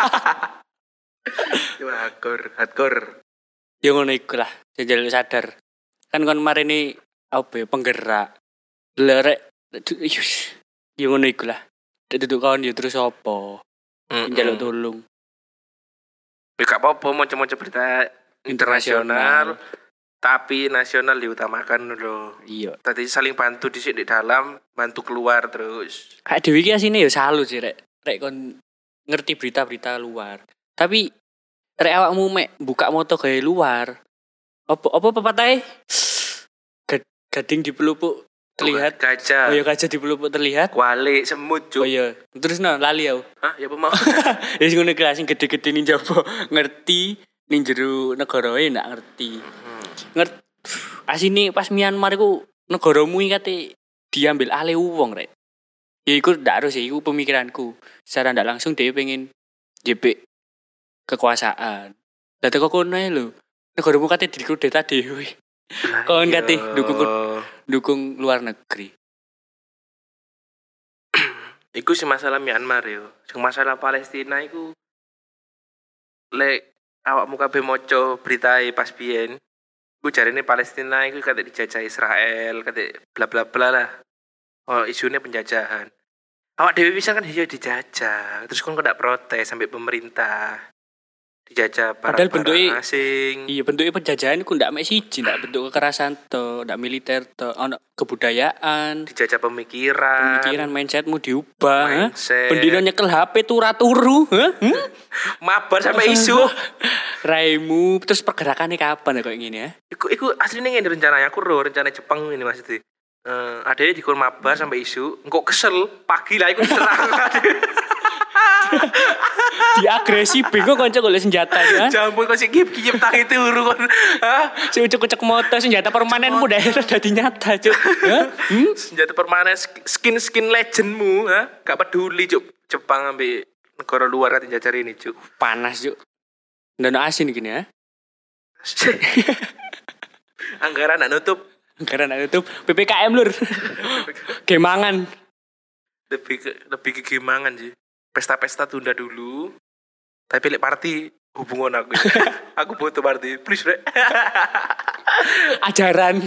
Ya hardcore. Ya ngono iku lah, jajal sadar. Kan kon marini apa ya penggerak. Lerek ya ngono iku lah. Duduk kawan ya terus apa? Njaluk tolong. Ya gak apa-apa macam-macam berita internasional. Tapi nasional diutamakan lho. Iya. Tadi saling bantu di dalam, bantu keluar terus. Kayak Dewi ki asine ya salut sih rek kon ngerti berita-berita luar. Tapi rek awakmu mek buka moto gawe luar. Apa pepatahe? Gading di pelupuk terlihat. Gajah. Oh ya gajah di pelupuk terlihat. Wale semut cuk. Oh iya. Terus lali aku. Hah, ya apa mau? Ya sing ngono kelas sing gede-gede ning jaba ngerti ning jero negara ndak ngerti. Asine pas Myanmar iku negaramu iki kate diambil alih wong rek. Ya iku ndak harus ya iku pemikiranku. Secara ndak langsung dhewe pengen jepek kekuasaan. Lah teko kono ae lho. Negaramu kate dikudeta dhewe. Kon kate dukung luar negeri. Iku sih masalah Myanmar yo. Sing masalah Palestina iku lek awakmu kabeh maca beritae pas biyen. Ku jarine Palestina iku kate dijajah Israel, kate bla bla bla lah. Oh, isunya penjajahan. Awak dhewe bisa kan iya dijajah. Terus kon ndak protes sampai pemerintah. Dijajah Padahal barang asing. Iya bentuknya penjajahan ku ndak mek siji, ndak bentuk kekerasan to, ndak militer to, ono kebudayaan, Dijajah pemikiran mindsetmu diubah. Mindset. Bendino nyekel HP turu, mabar sampai isu. Raimu terus pergerakannya kapan ya kok ngene ya? Iku aslinya ngene rencananya aku rencana Jepang ini maksudnya. Adanya dikon mabar sampai isu, engkau kesel pagi lah iku serang. Diagresi bingung kanca golek senjata ya. Jampun kok sik kiyep tangi turu kon. Hah? Si ucuk-ucuk moto senjata permanenmu dadi nyata, Cuk. Senjata permanen skin legendmu, ha? Gak peduli, Cuk. Jepang ambil negara luar kate jajar ini, Cuk. Panas, Cuk. Ndono asin gini ya. Anggaran nak nutup. Anggaran nak nutup PPKM lur. Gemangan. Lebih ke gemangan sih. Pesta-pesta tunda dulu. Tapi lek party hubungan aku. Aku butuh party. Please, Rek. Ajaran.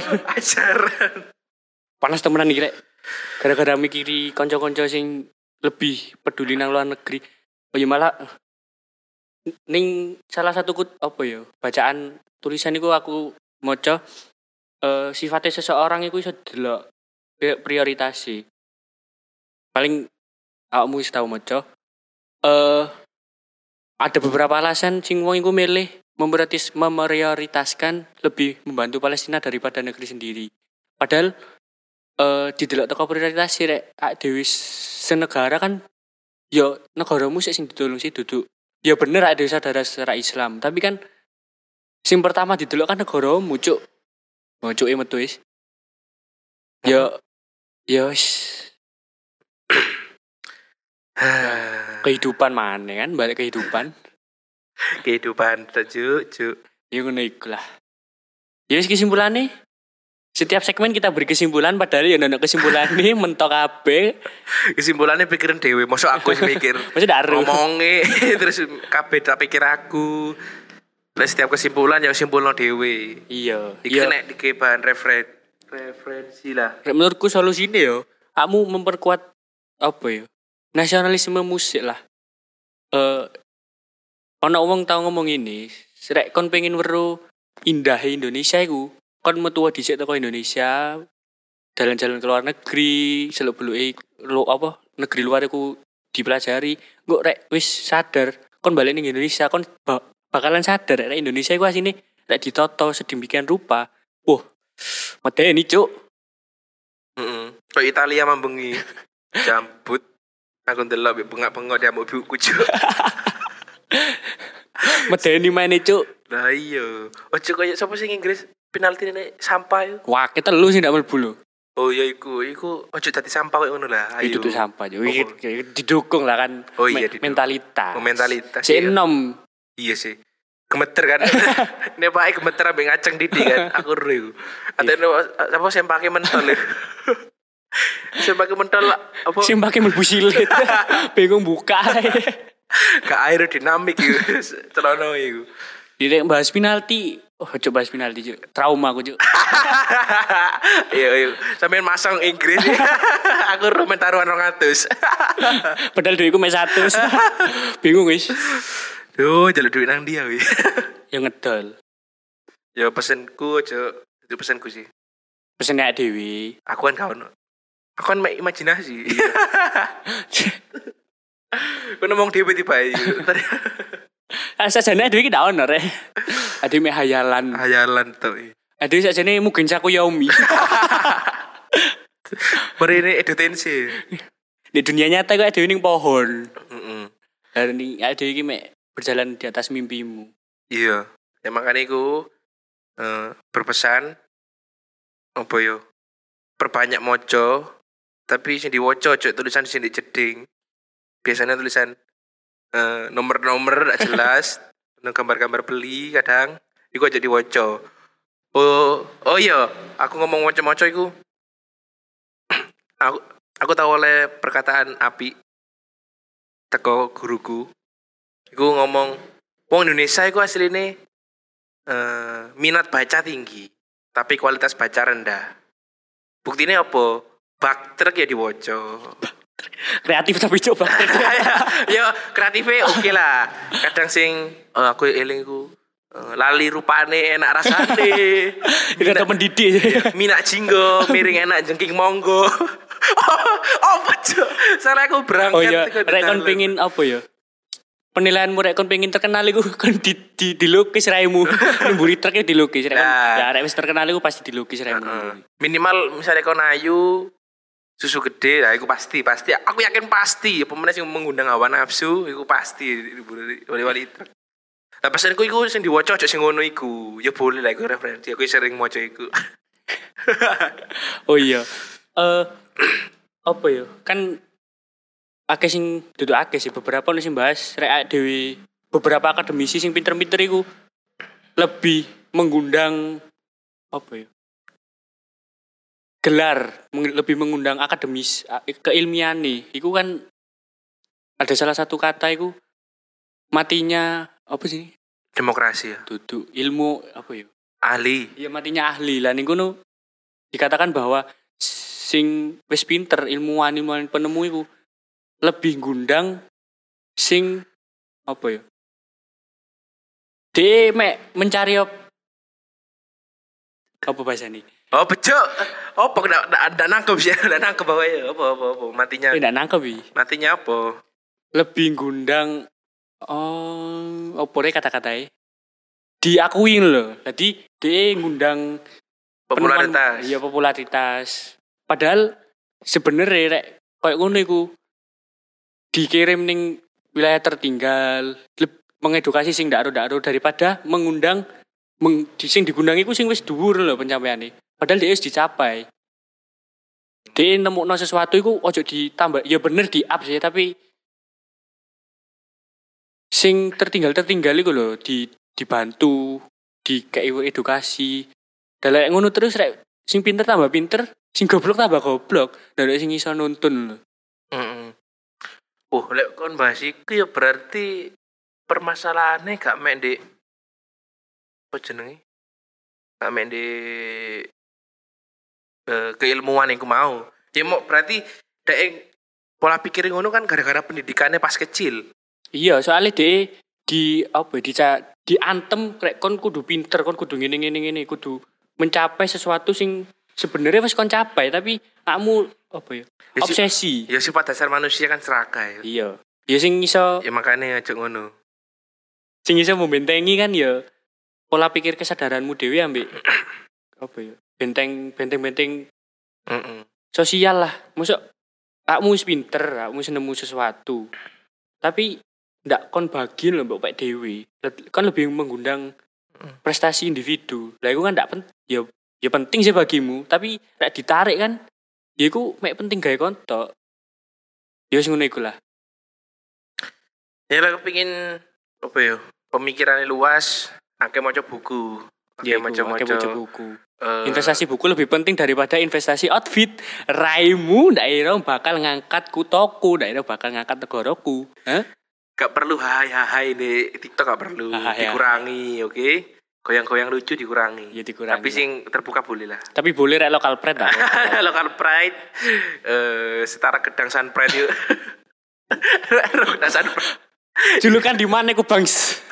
Panas temenan iki, Rek. Gara-gara mikiri kanca-kanca sing lebih peduli nang luar negeri. Oh ya malah ning salah satu apa ya? Bacaan tulisan iku aku maca sifatnya seseorang iku iso delok prioritasi. Paling awakmu wis tau maca ada beberapa alasan sing wong iku milih memprioritaskan lebih membantu Palestina daripada negeri sendiri. Padahal didelok teko prioritas rek dhewe senegara kan ya negaramu sik sing ditulung sih duduk. Ya bener ada saudara secara Islam, tapi kan sing pertama didelok kan negaramu, Cuk. Mocuke metu wis. Ya wis. Kehidupan mana kan balik kehidupan Cuk. ya ngono iku lah Ya wis kesimpulannya setiap segmen kita beri kesimpulan padahal ya ono kesimpulannya mentok kabeh. Kesimpulannya pikirin dewe, mosok aku sih mikir. Mesti daru. Ngomongnya terus kabeh tak pikir aku. Lah setiap kesimpulan ya simpulno dewe. Iya. Iki nek dike bahan referensi lah. Menurutku solusinya yo, kamu memperkuat apa ya? Nasionalisme musik lah. Ono wong tau ngomong ini, rek kon pengen weru indah Indonesia iku, kon metu dhisik teko Indonesia, jalan-jalan ke luar negeri, seluk-beluke negeri luar iku dipelajari, engko rek wis sadar, kon balik ning Indonesia, kon bakalan sadar rek Indonesia iku asine rek ditoto sedemikian rupa. Wah, medeni cuk. Kok Italia mambengi. Jambut. Aku ndelok bengak-bengok dia mau buku cuk. Medeni main cuk. Lah iya. Ojo koyo sapa sing Inggris penalti nek sampah iku. Wah, kita lu sih ndak mlebu lho. Oh iya iku ojo dadi sampah koyo ngono lah. Ayo. Itu tuh sampah cuk. Didukung lah kan. Oh iya mentalitas. Mentalitas. Si enom. Iya sih. Gemeter kan. Nek pakai gemeter ambek ngaceng didik kan. Aku ero iku. Atene apa sempake mentol lho. Sempake mentol apa? Sempake mlebu silit. Bingung buka. Ke aerodinamik iku. Celono iku. Direk bahas penalti. Oh, coba bahas penalti, Cuk. Trauma aku, Cuk. Iya. Sampeyan masang Inggris. Aku rumen taruhan 200. Padahal duitku mek 100. Bingung wis. Duh, jaluk duit nang dia wis. Ya ngedol. Ya pesenku aja. Itu pesenku sih. Pesen nek dhewe. Aku kan gak ono. Aku kan mek imajinasi. Aku ngomong dhewe tiba-tiba. Sajane dhewe iki ndak ono rek. Ade mek hayalan. Hayalan to. Ade sajane mungkin saku Yaomi. Merene edutensi. Di dunia nyata kok ade ning pohon. Heeh. Dan ade iki mek berjalan di atas mimpimu. Iya. Ya makanya aku berpesan apa yo? Perbanyak moco, tapi sing diwoco cuk tulisan sing jeding. Biasanya tulisan nomor-nomor gak jelas, gambar-gambar beli kadang iku aja diwoco. Oh iya, aku ngomong moco-moco iku. aku tahu oleh perkataan api teko guruku. Iku ngomong wong Indonesia iku asline minat baca tinggi, tapi kualitas baca rendah. Buktinya apa? Baktrek ya diwoco. Kreatif tapi coba. Yo kreatifnya oke lah. Kadang sing aku eling ku lali rupane enak rasane. Itu ada mendidik. Minak jinggo, miring enak jengking monggo. Apa cuk? Soalnya aku berangkat. Oh iya, rek kon pengin apa ya? Penilaianmu rek kon pengin terkenal iku kon dilukis raimu. Mburi truknya dilukis rek. Ya rek wis terkenal iku pasti dilukis raimu. Minimal misalnya kon ayu susu gede, lah iku pasti. Aku yakin pasti. Pemenang sing mengundang hawa nafsu, iku pasti wali-wali truk. Lah pesanku iku sing diwaca aja sing ngono iku. Ya boleh lah iku referensi. Aku sering maca iku. Oh iya. Apa ya? Kan akeh sing duduk akeh sih beberapa nih sing bahas rek dhewe beberapa akademisi sing pinter-pinter iku lebih mengundang apa ya? Gelar lebih mengundang akademis keilmian nih. Iku kan ada salah satu kata iku matinya apa sih? Demokrasi ya. Duduk ilmu apa ya? Ahli. Iya matinya ahli. Lah niku nu dikatakan bahwa sing wis pinter ilmuwan penemu iku lebih ngundang sing apa ya? Dia mencari apa bahasa ini? Oh bejo. Apa ndak nangkep sih? Ndak nangkep apa ya? Apa matinya? Ndak nangkep iki. Matinya apa? Lebih ngundang apa kata-katae? Diakui lho. Jadi dia ngundang popularitas. Iya popularitas. Padahal sebenarnya rek koyo ngono iku dikirim ning wilayah tertinggal, mengedukasi sing ndak ero daripada mengundang sing digundang iku sing wis dhuwur lho pencapaiane. Padahal dia wis dicapai. Dia nemukno sesuatu iku ojo ditambah. Ya bener di up sih tapi sing tertinggal iku lho dibantu, dikei edukasi. Dalek ngono terus rek sing pinter tambah pinter, sing goblok tambah goblok. Dalek sing iso nuntun lho. Heeh. Oh, lek kon bahas iku ya berarti permasalahannya gak mek ndek apa jenenge? Gak mek ndek keilmuan iku mau. Ya mau berarti dek pola pikir ngono kan gara-gara pendidikannya pas kecil. Iya, soalnya di apa ya, diantem rek kon kudu pinter, kon kudu ngene, kudu mencapai sesuatu sing sebenarnya wis kon capai tapi kamu apa ya? Ya, Obsesi. Ya sifat dasar manusia kan serakah ya. Iya. Ya sing iso Ya makanya aja ngono. sing iso membentengi kan ya pola pikir kesadaranmu dhewe ambek apa ya? Benteng sosial lah. Mosok kamu wis pinter, kamu wis nemu sesuatu. Tapi ndak kon bagi lho mbok pek dhewe. Kan lebih mengundang prestasi individu. Lah iku kan ndak ya penting sih bagimu, tapi nek ditarik kan ya iku mek penting gawe kontok. Ya wis ngono iku lah. Ya lah kepengin apa ya? Pemikirannya luas, akeh maca buku. Akeh maca buku. Investasi buku lebih penting daripada investasi outfit. Raimu ndak ira bakal ngangkat kutoku, ndak ira bakal ngangkat negaraku. Hah? Gak perlu hai di TikTok, gak perlu dikurangi, oke? Goyang-goyang lucu dikurangi. Ya dikurangi. Tapi sing terbuka boleh lah. Tapi boleh rek local pride lah. Local pride setara gedang Sun Pride yuk. Gedang Sun Pride. Julukan di mana ku Bangs?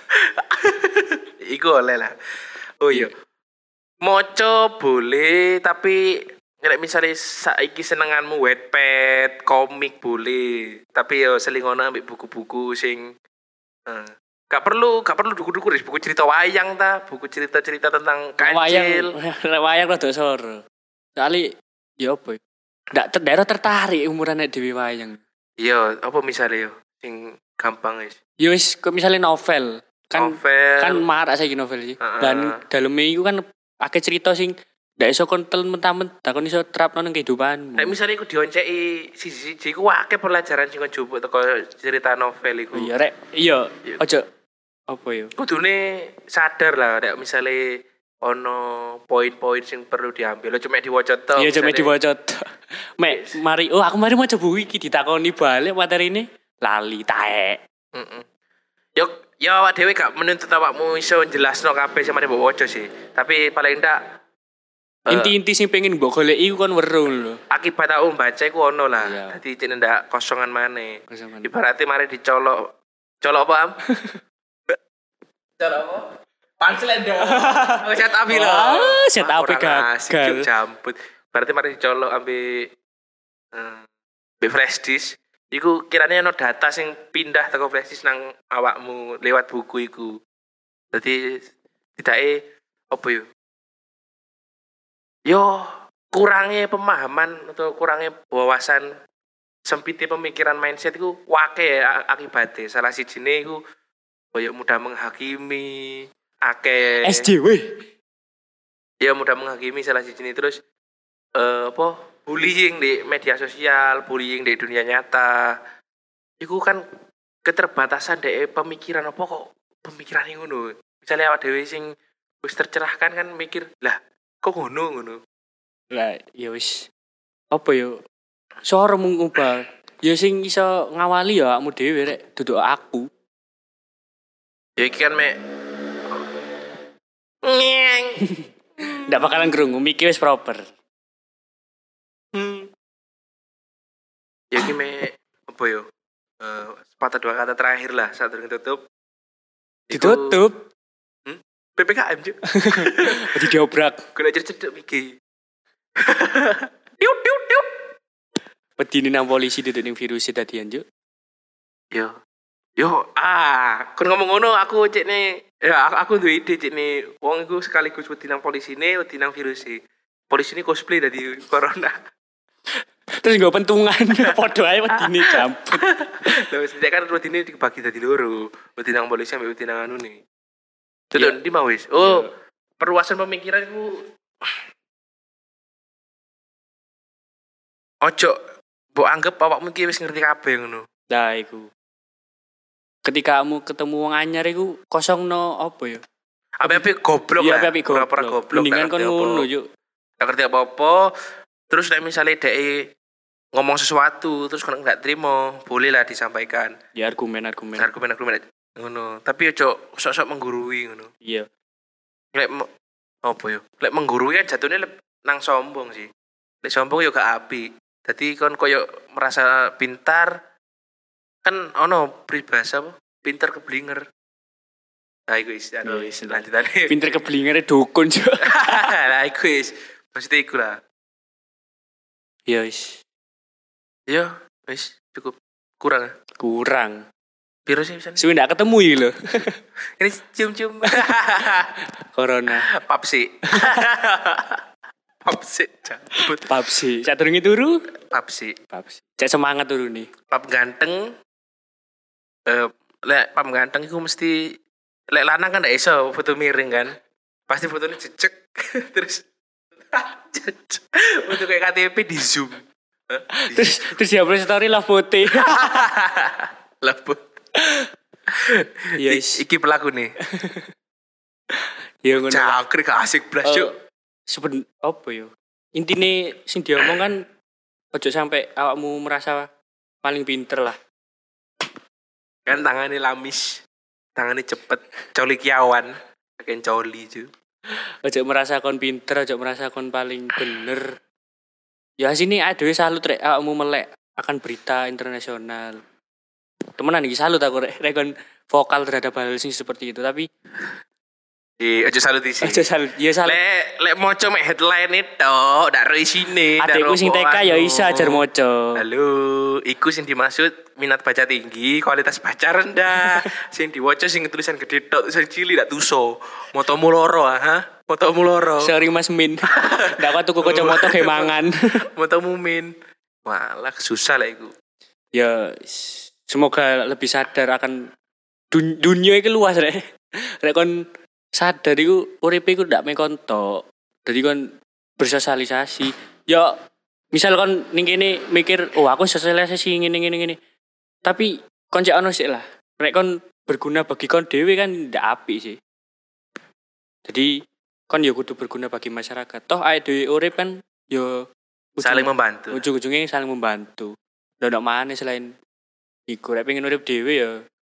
Iku oleh lah. Oh iya. Moco boleh tapi nek misale saiki senenganmu Wattpad, komik boleh. Tapi yo selingono ambek buku-buku sing gak perlu duku-duku buku cerita wayang ta, buku cerita-cerita tentang kancil. Wayang rada soro. Soale ya apa? Ndak daerah tertarik umuran nek dhewe wayang. Iya, apa misale yo sing gampang wis. Ya wis kok misale novel. Kan marak saiki novel sih. Dan daleme iku kan akeh cerita sing ndak iso kontel mentah-mentah kon iso terapno nang kehidupan. Nek misale iku dionceki siji-siji iku akeh pelajaran sing kon jupuk teko cerita novel iku. Iya rek, iya aja apa ya? Kudune sadar lah nek misale ono poin-poin sing perlu diambil. Lo cuma diwaca tok. Iya cuma diwaca tok. Mek mari aku mari maca buku iki ditakoni balik materine lali taek. Yo awak dhewe gak menuntut awakmu iso jelasno kabeh sing mari mbok waca sih. Tapi paling ndak inti-inti sing pengen mbok goleki iku kon weruh lho. Akibat aku baca iku ono lah. Dadi cek ndak kosongan maneh. Ibaratnya mari dicolok. Colok apa, Am? Colok apa? Punchline dong. Oh, set up lho. Set up gagal. Jambut. Berarti mari dicolok ambek flash disk. Iku kirane ono data sing pindah teko flash disk nang awakmu lewat buku iku. Dadi tidake apa yo? Yo kurangnya pemahaman atau kurangnya wawasan sempitnya pemikiran mindset iku wake akibatnya. Salah sijine iku koyo mudah menghakimi, akeh SJW. Ya mudah menghakimi salah sijine terus bullying di media sosial, bullying di dunia nyata. Iku kan keterbatasan dek pemikiran apa kok pemikiran ngono. Misalnya awak dhewe sing wis tercerahkan kan mikir, lah kok ngono. Lah ya wis apa yo? Sore mung ubah. Ya sing iso ngawali ya awakmu dhewe rek, duduk aku. Ya iki kan mek ndak bakalan krungu, mikir wis proper. Ya iki mek apa yo? Sepatah dua kata terakhir lah saat tutup. Ditutup. PPKM juk. Jadi diobrak. Kena cercet iki. Tiup. Pedini nang polisi duduk ning virus tadian juk. Yo, kon ngomong ngono aku cek ne, ya aku duwe ide cek ne, wong iku sekaligus wedi nang polisine, wedi nang viruse. Polisi ini cosplay dari corona. Terus nggo pentungan, padha ae wedine jamput. Lha wis kan wedine dibagi dadi loro, wedi nang polisi ambek wedi nang anune. Duduk ndi mau wis. Oh, perluasan pemikiran iku ojo mbok anggap awakmu iki wis ngerti kabeh ngono. Lah iku. Ketika kamu ketemu wong anyar iku kosongno apa ya? Api-api goblok Iya, lah. api Pura-pura goblok. Mendingan nggak kon ngerti ngono apa. yuk. Nggak ngerti apa-apa. Terus nek misalnya dhek ngomong sesuatu terus kon nggak terima, boleh lah disampaikan. Ya argumen-argumen. Argumen-argumen ngono. Tapi ojo sok-sok menggurui ngono. Iya. Lek apa yo? Lek menggurui kan jatuhnya nang sombong sih. Lek sombong yo gak apik. Dadi kon koyo merasa pintar kan ono peribahasa apa? Pintar keblinger. Nah, iku wis Ya, wis, lanjutane. Pinter keblingere dukun juga. Lah iku wis. Maksudnya iku lah. Ya wis. Yo, wis cukup. Kurang ya? Kurang. Piro sih pisan? Suwe ndak ketemu iki lho. Ini cium-cium. Corona. Papsi. Papsi. Cabut. Papsi. Sadurunge turu? Papsi. Papsi. Cek semangat turu nih. Pap ganteng. Lek pap ganteng iku mesti lek lanang kan ndak iso foto miring kan. Pasti fotonya jejek terus untuk kayak KTP di zoom. Terus dia upload story lah foto. Leput. Ya wis. Iki pelaku nih. Ya ngono. Cakri gak asik blas cuk. Apa yo? Intine sing diomong kan ojo sampai awakmu merasa paling pinter lah. Kan tangannya lamis. Tangannya cepet. Coli kiawan. Kayak coli cu. Ojo merasa kon pinter, ojo merasa kon paling bener. Ya sini adewe salut rek awakmu melek akan berita internasional. Temenan iki salut aku rek kon vokal terhadap hal sing seperti itu, tapi Aja salut isi. ojo salut. Ya salut. Lek moco mek headline itu ndak ro isine. Adekku sing TK ya iso ajar moco. Halo, iku sing dimaksud minat baca tinggi, kualitas baca rendah. Sing diwaca sing tulisan gede tok, tulisan cilik ndak tuso. Motomu loro ha? Motomu loro. Sorry Mas Min. Ndak kuat tuku kacamata ge mangan. Motomu min. Malah susah lah iku. Ya semoga lebih sadar akan dunia iki luas rek. Rek kon sadar iku uripe iku ndak mekon tok. Dadi kon bersosialisasi. Ya misal kon ning kene mikir, "Oh, aku sosialisasi ngene. Tapi kon cek ono sik lah. Rek kon berguna bagi kon dhewe kan ndak apik sih. Jadi kon ya kudu berguna bagi masyarakat. Toh awake dhewe urip kan ya Saling membantu. ujung-ujungnya saling membantu. Ndak ono maneh selain iku rek pengen urip dhewe ya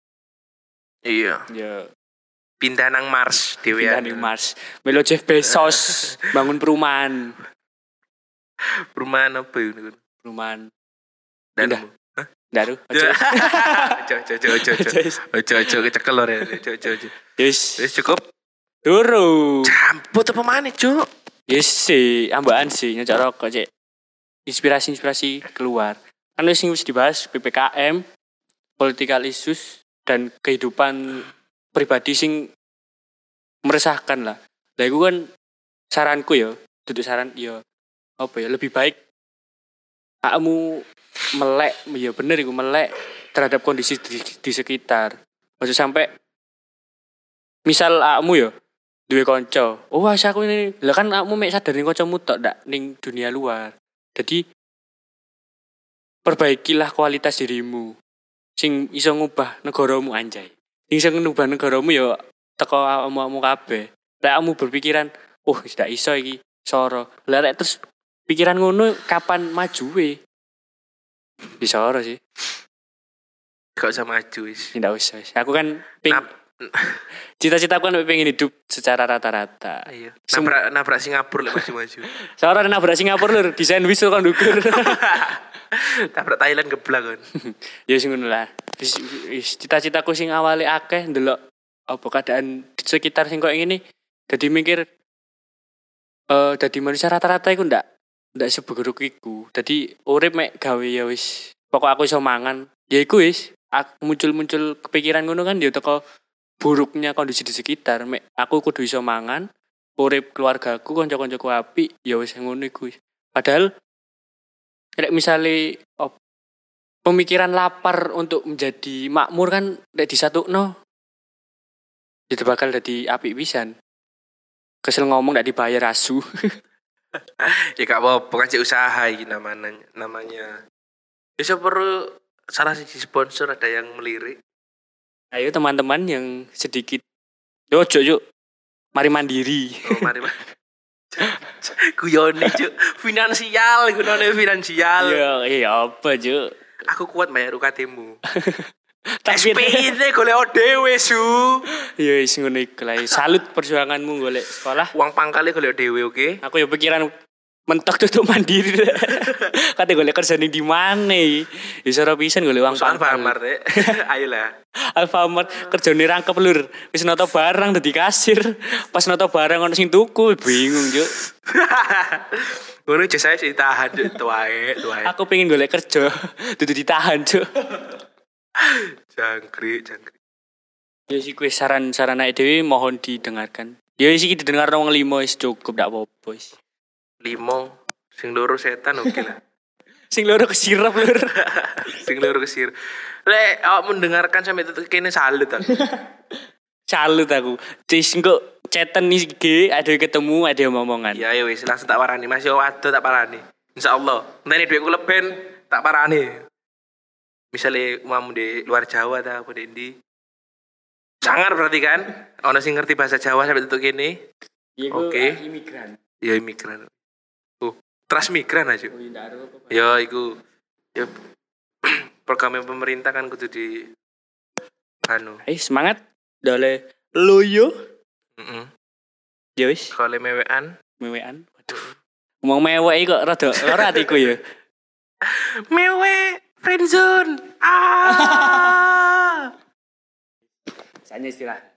Iya. Pindah nang Mars dhewe pindah ning Mars. Melo Jeff Bezos bangun perumahan. Perumahan apa itu? Perumahan. Dan Pindah. Ndak ru. Ojo kecekel lho ya. Ojo. Yes. Wis cukup. Turu. Campur apa maneh, Cuk? Yes sih, ambaan sih nyocok rokok cek. Inspirasi keluar. Kan wis dibahas PPKM, political issues dan kehidupan pribadi sing meresahkan lah. Lah iku kan saranku ya, duduk saran ya apa ya lebih baik kamu melek ya bener iku melek terhadap kondisi di sekitar. Maksud sampai misal kamu ya duwe kanca. Oh, aku ini. Lah kan kamu mek sadar ning kancamu tok ndak ning dunia luar. Jadi perbaikilah kualitas dirimu sing iso ngubah negaramu anjay. Sing iso ngubah negaramu ya teko awakmu kabeh. Lek kamu berpikiran, "Oh, wis ndak iso iki, soro." Lah lek terus pikiran ngono kapan majuwe? Bisa ora sih. Gak usah maju wis. Ndak usah. Aku kan cita-citaku kan pengen hidup secara rata-rata. Iya. Nabrak Singapura lek maju-maju. Seorang nabrak Singapura lho, desain wis kan ndukur. Nabrak Thailand geblak kan. Ya sing ngono lah. Wis cita-citaku sing awale akeh ndelok apa keadaan di sekitar sing koyo ngene. Dadi mikir dadi manusia rata-rata iku ndak seburuk iku. Dadi urip mek gawe ya wis. Pokok aku iso mangan. Ya iku wis. Muncul kepikiran ngono kan ya teko buruknya kondisi di sekitar. Mek aku kudu iso mangan, urip keluargaku, kanca-kancaku apik, ya wis ngono iku. Padahal nek misale pemikiran lapar untuk menjadi makmur kan nek disatukno itu bakal dadi apik pisan. Kesel ngomong ndak dibayar asu. Ya gak apa-apa kan cek usaha iki namanya. Bisa perlu salah siji sponsor ada yang melirik. Ayo teman-teman yang sedikit ojo yuk mari mandiri. Oh, mari. Guyone, Cuk. Finansial, gunane finansial. Iya apa, Cuk? Aku kuat bayar UKT-mu. Tapi SPI golek dhewe su. ya wis ngono iku lah. Salut perjuanganmu golek sekolah. Uang pangkale golek dhewe, oke? Aku ya pikiran mentok tutup mandiri. Kate golek kerja ning di mana? Ya ora pisan golek uang Soal pangkal. Alfamart rek. Ayolah. Alfamart kerjane rangkep lur. Wis noto barang dadi kasir. Pas noto barang ono sing tuku bingung, Cuk. Ngono jasa ditahan tuae. Aku pengen golek kerja, dudu ditahan, Cuk. Jangkrik. Ya sih kuwi saran-saran ae dhewe mohon didengarkan. Ya sih didengar wong 5 wis cukup ndak apa-apa wis. 5 sing loro setan oke lah. Sing loro kesirap lur. Sing loro kesir. Lek awak mendengarkan sampai tetek kene salut aku. Salut aku. Cis engko chatan iki ada ketemu ada omongan. Ya wis langsung tak parani Mas yo ado tak parani. Insyaallah. Nek dhuwitku leben tak parani. Misalnya umamu di luar Jawa ta apa di sangar berarti kan? Ono sing ngerti bahasa Jawa sampai tetek kene. Oke. Imigran. Ya imigran. Transmigran aja. Oh, ndak ada apa-apa. Ya iku ya program pemerintah kan kudu di anu. Semangat dole loyo. Heeh. Ya wis, Kalau mewean. Waduh. Ngomong mewek kok rada ora atiku ya. Mewe friendzone. Sanya istilah.